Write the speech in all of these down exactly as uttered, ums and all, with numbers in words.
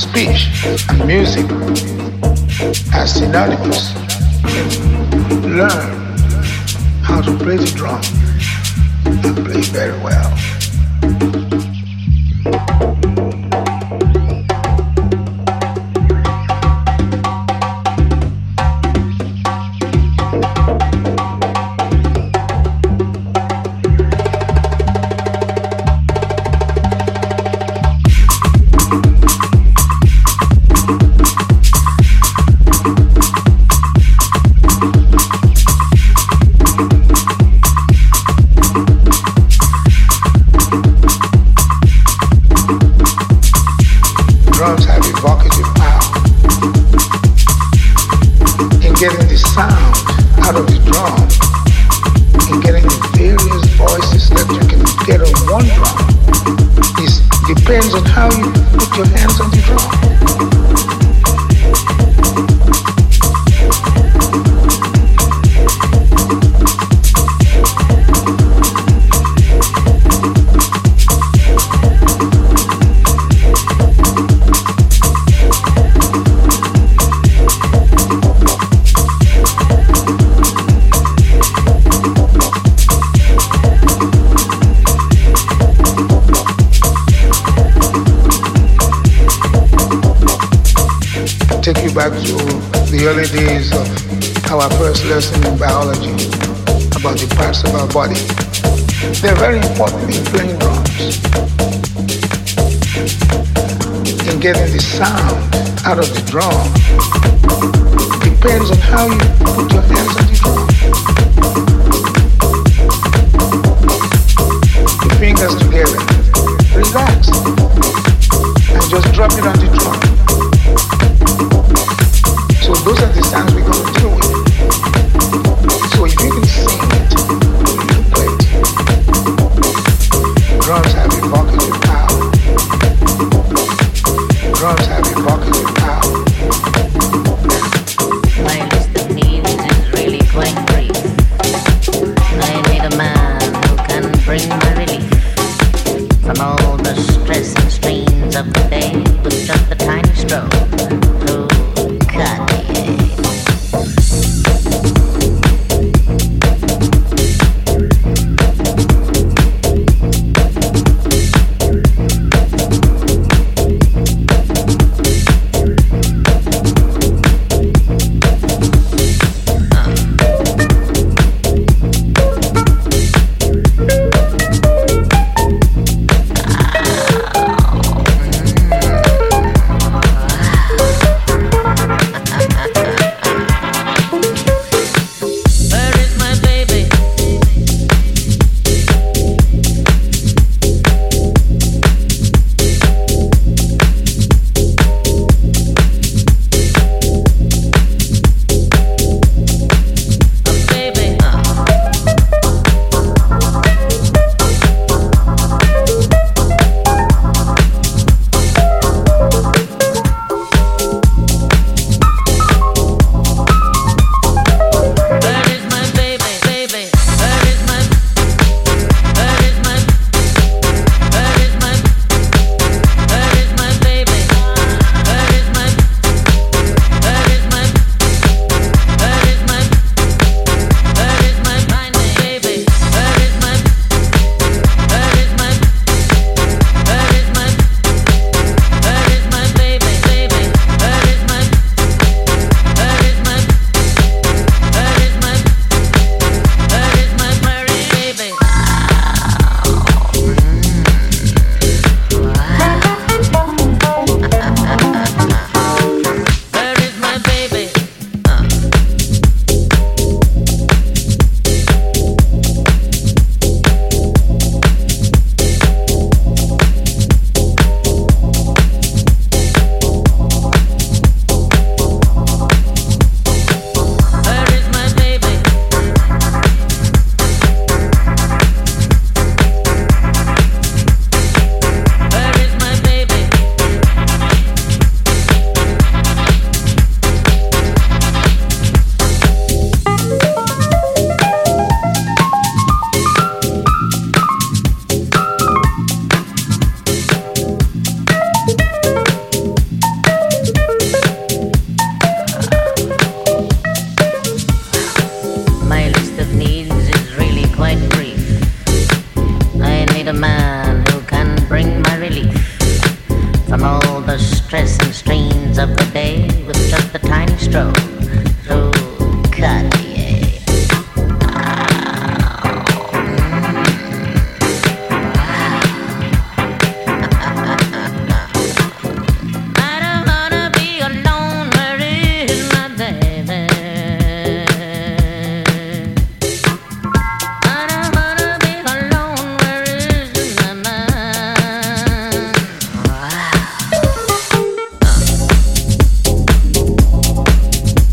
speech and music as synonymous. Learn how to play the drum and play very well. Getting the sound out of the drum and getting the various voices that you can get on one drum is depends on how you put your hands on the drum. Take you back to the early days of our first lesson in biology about the parts of our body. They're very important in playing drums, in getting the sound out of the drum. Depends on how you put your hands on the drum. Your fingers together, relax, and just drop it on the drum. So those are the sounds we're going to deal with. So if you can sing it, you can play it. Drums have evocative power. Drums have evocative power. Whilst the music is really quite brief, I need a man who can bring the relief from all the stress and strains of the day with just a tiny stroke. Who cut of the day with just a tiny stroll through Cartier. I don't wanna be alone, where is my baby? I don't wanna be alone, where is my mind? Wow.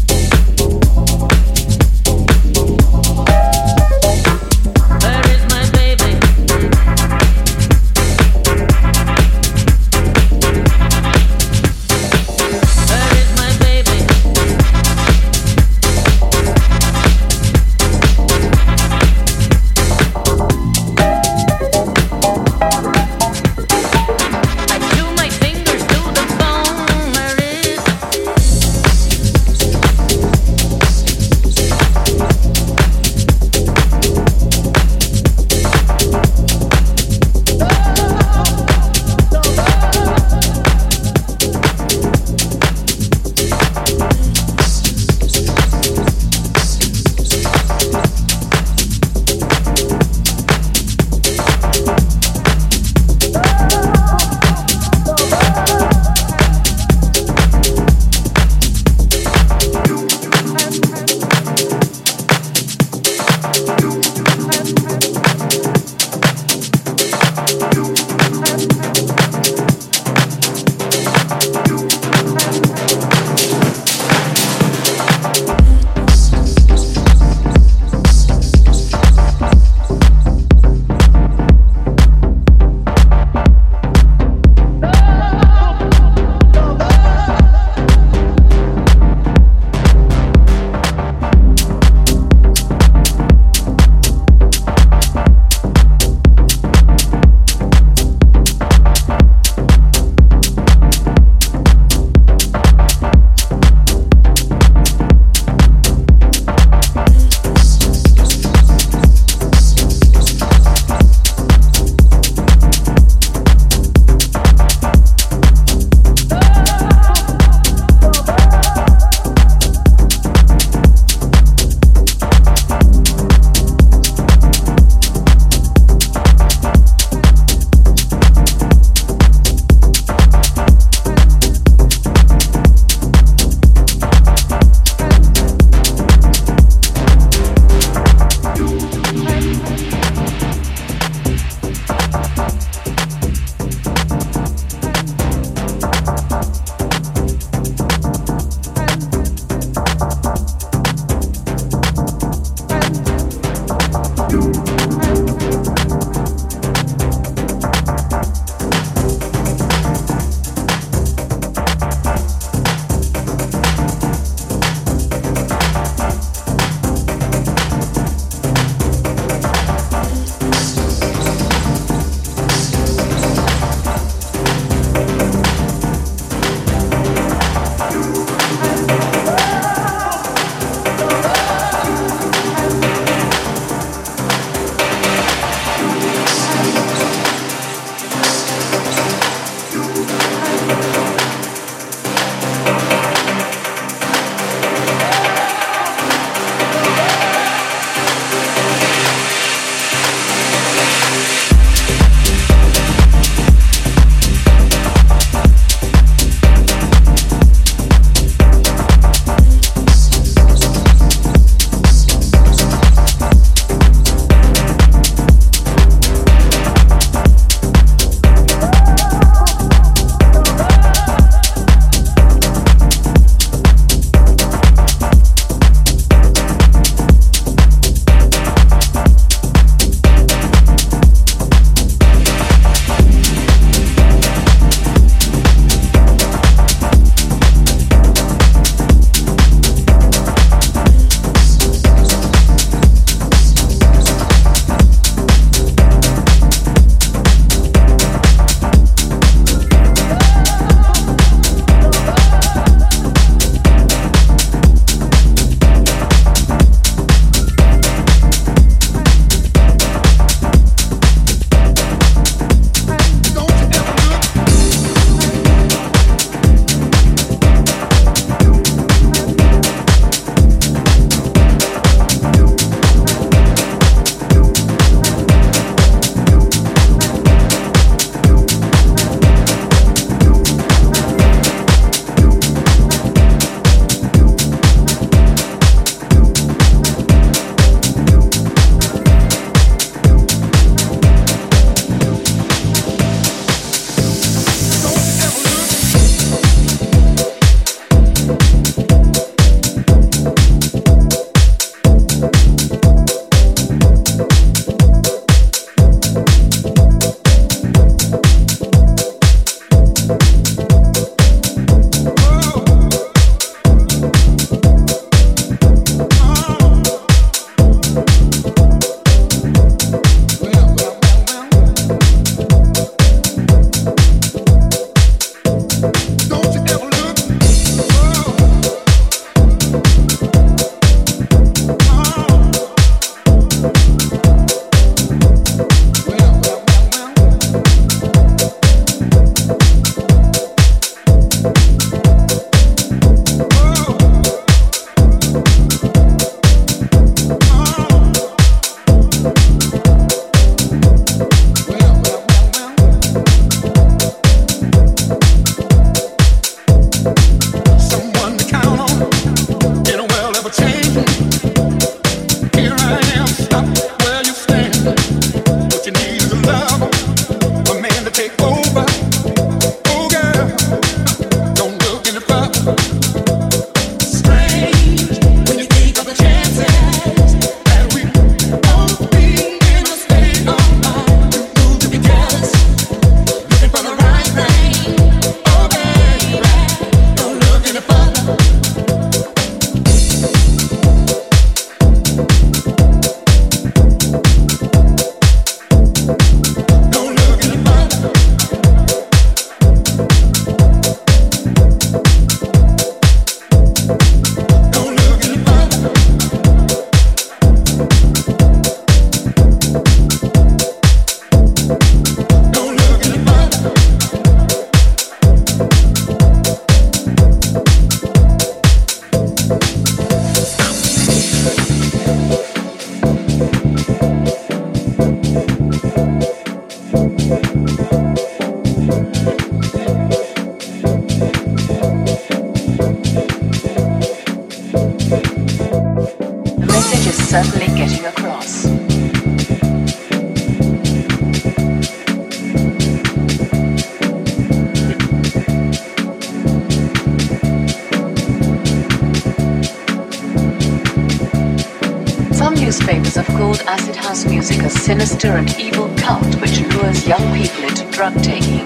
Sinister and evil cult which lures young people into drug taking.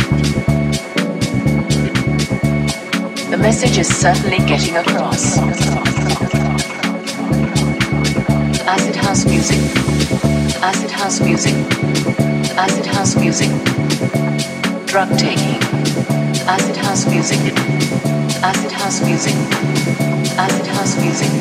The message is certainly getting across. Acid house music, acid house music, acid house music, drug taking, acid house music, acid house music, acid house music.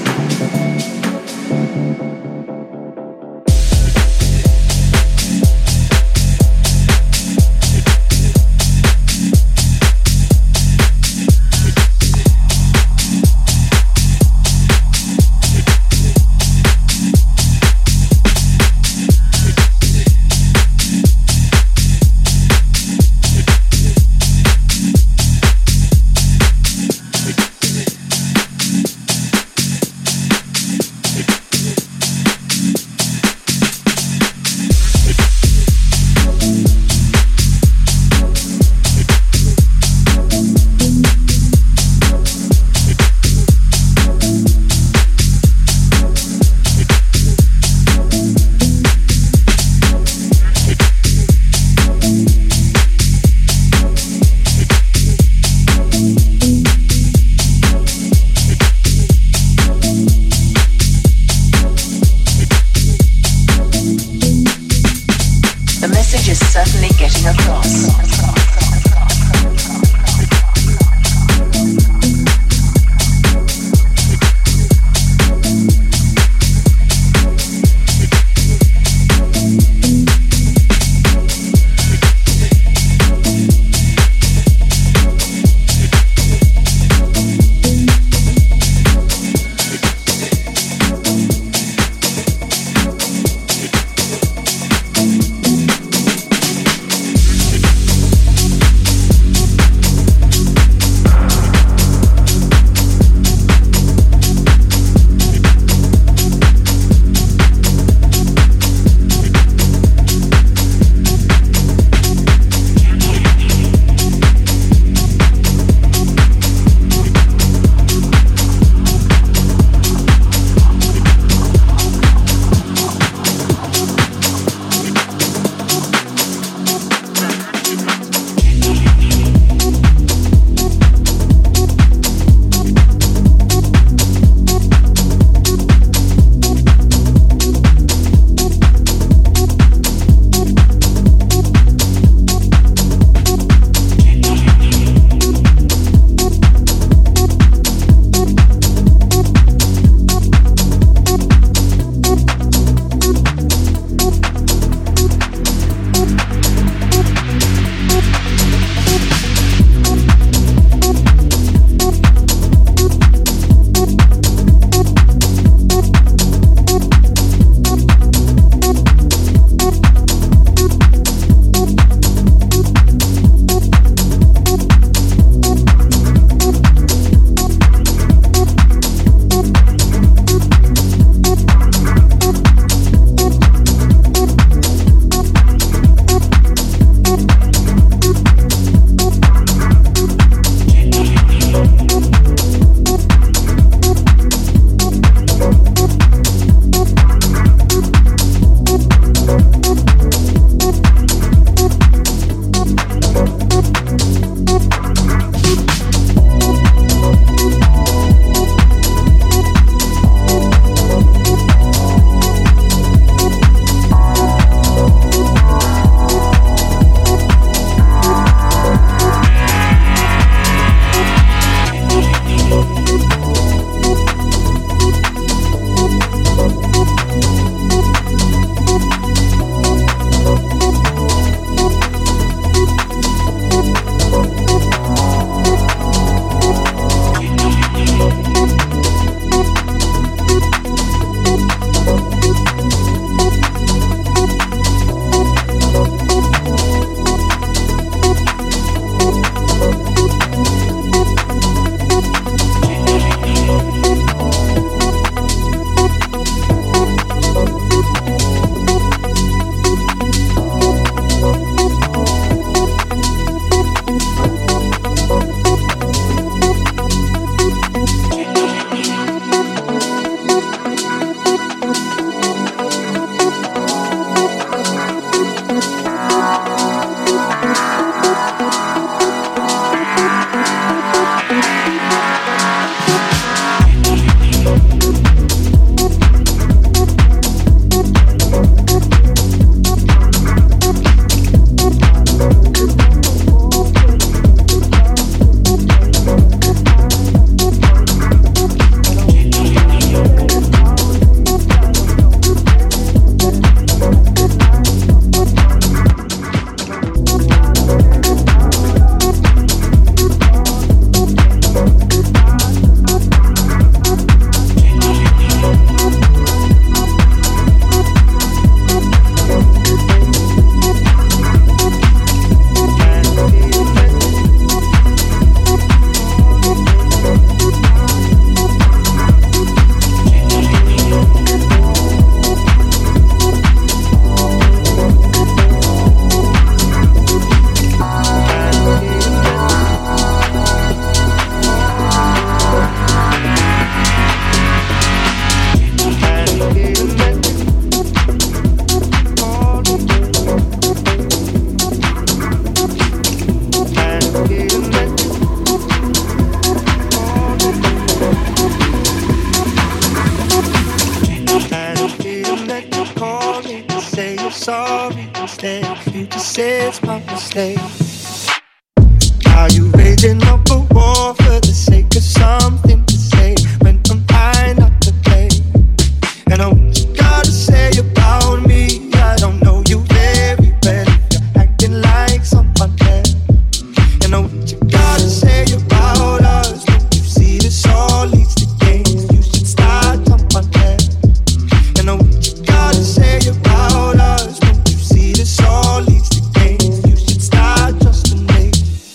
sorry instead. You just say it's my mistake. Are you raging up a war for the sake of something to say when I'm high not to play? And I what you gotta say about me, I don't know you very well. You're acting like someone else. And I what you gotta say about us, don't you see this all leads to games? You should start someone else. And I what you gotta say about us, don't you see this all leads to games? You should start trusting me.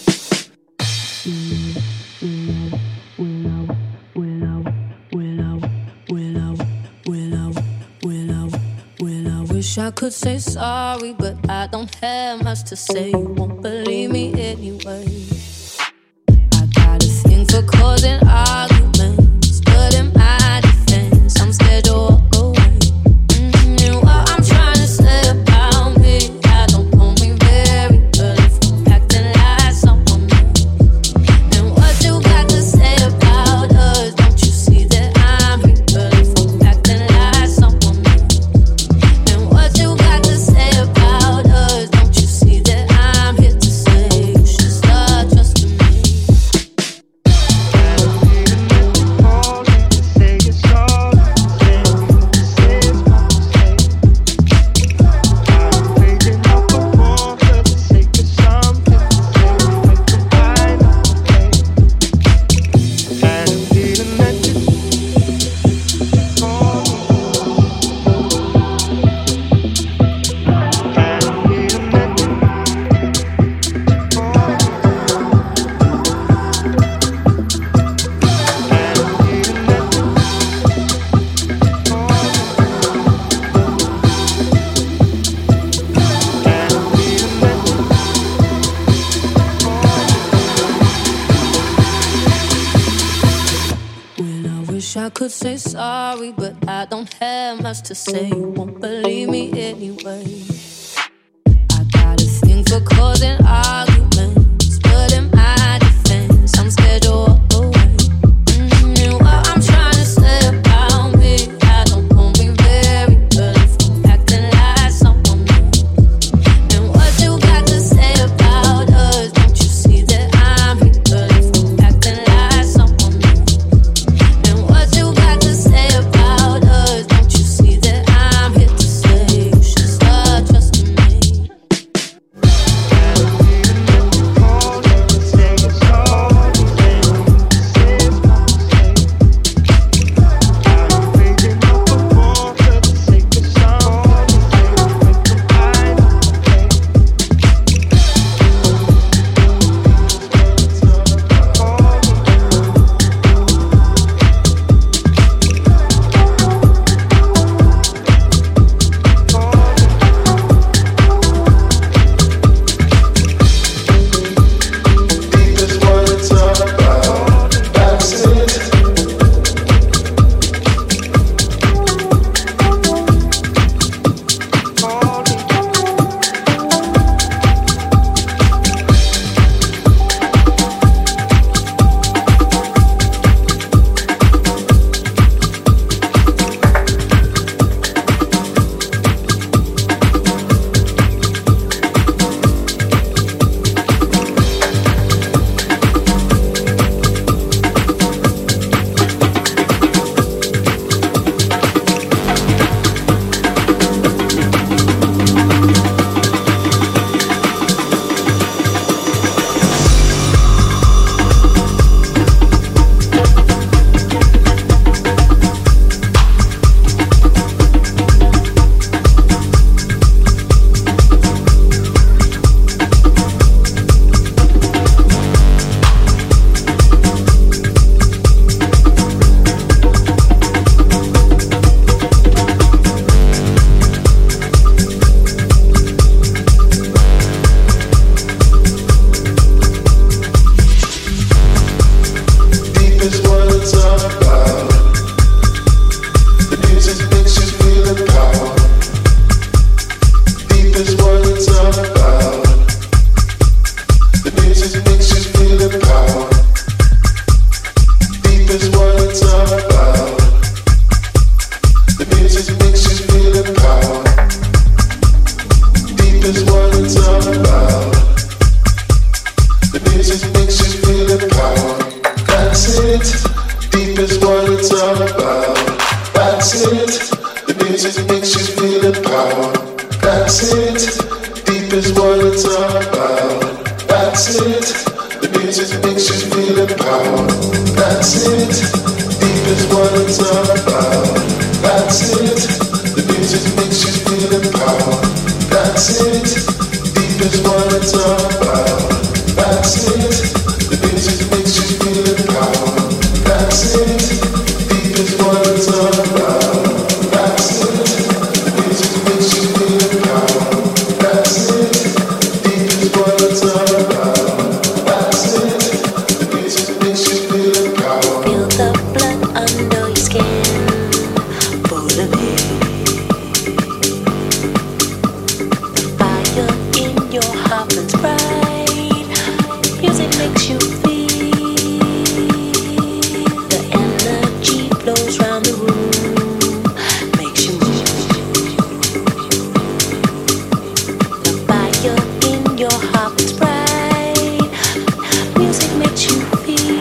Wish I could say sorry, but I don't have much to say. You won't believe me anyway. I got a thing for causing arguments, but in my defense, I'm scared to walk away. Mm-hmm. And what I'm trying to say about me, I don't know me very well if I'm acting like someone else. And what you got to say about us, don't you see that I'm here well if I'm acting like someone else? And what you got to say about us, don't you see that I'm here to say you should start trusting me? I could say sorry, but I don't have much to say. You won't believe me anyway. I got a thing for causing arguments, but in my defense, I'm scared to walk away. Mm-hmm. And what I'm trying to say about me, I don't know me very well if I'm acting like someone else. And what you got to say about us, don't you see that I'm here well if I'm acting like someone else? And what you got to say about us, don't you see that I'm here to say you should start trusting me? Deep is what it's all about. That's it. The music makes you feel the power. That's it. Deep is what it's all about. That's it. The music makes you feel the power. That's it. Deep is what it's all about. That's it. The music makes you feel the power. That's it. Deep is what it's all about. That's it. The music makes you feel the power. That's it. Deep is what it's all about. That's it. The music makes you feel the power. That's it. Deep is what it's all about. That's it. The music makes you feel the power. Feel the blood under your skin, full of it. The fire in your heart burns bright. Music makes you feel. The energy flows round the room, makes you move. The fire in your heart burns bright. Music makes you feel.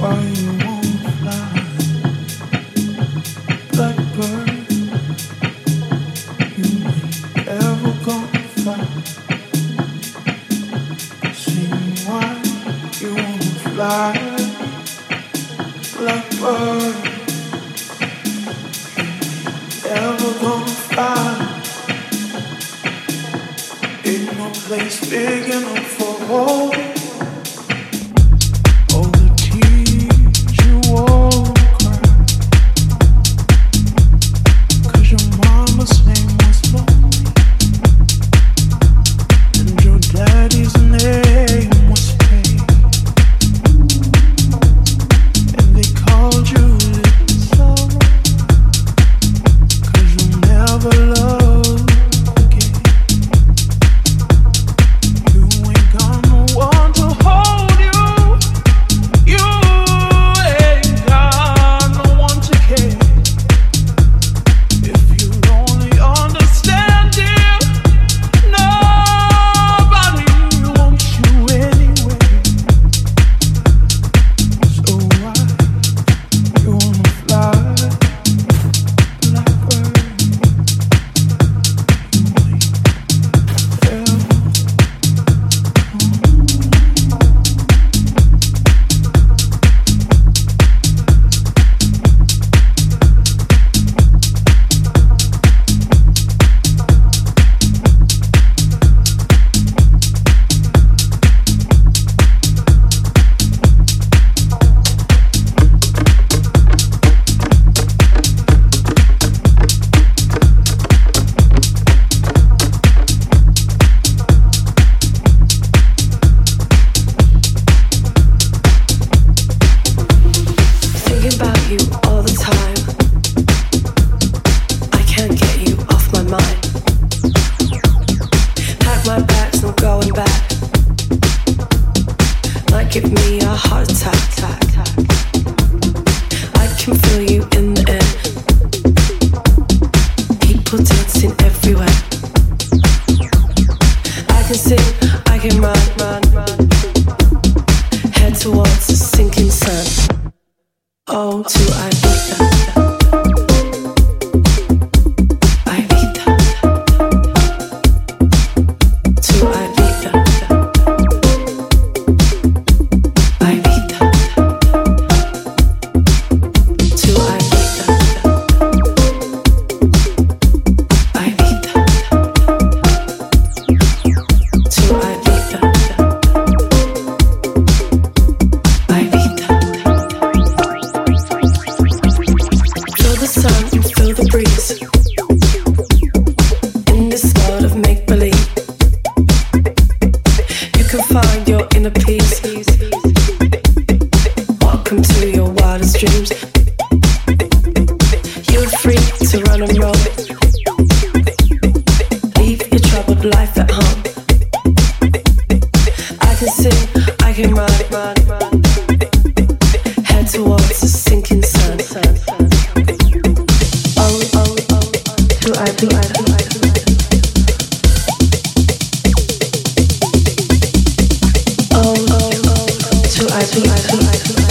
I